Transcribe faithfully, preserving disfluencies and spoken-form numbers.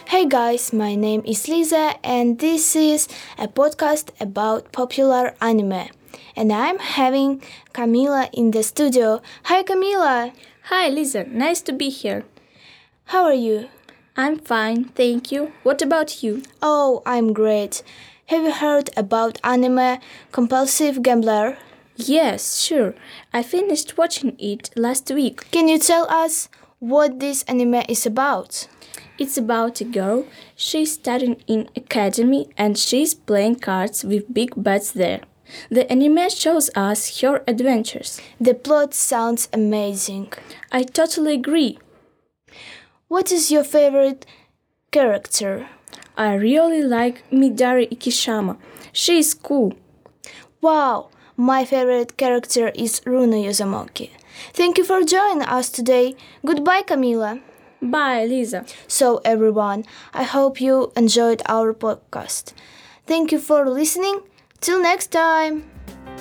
Hey guys, my name is Lisa and this is a podcast about popular anime. And I'm having Camila in the studio. Hi Camila! Hi Lisa, nice to be here. How are you? I'm fine, thank you. What about you? Oh, I'm great. Have you heard about anime Compulsive Gambler? Yes, sure. I finished watching it last week. Can you tell us what this anime is about? It's about a girl. She's studying in academy and she's playing cards with big bets there. The anime shows us her adventures. The plot sounds amazing. I totally agree. What is your favorite character? I really like Midari Ikishama. She is cool. Wow, my favorite character is Runo Yuzamoki. Thank you for joining us today. Goodbye, Camila. Bye, Lisa. So, everyone, I hope you enjoyed our podcast. Thank you for listening. Till next time.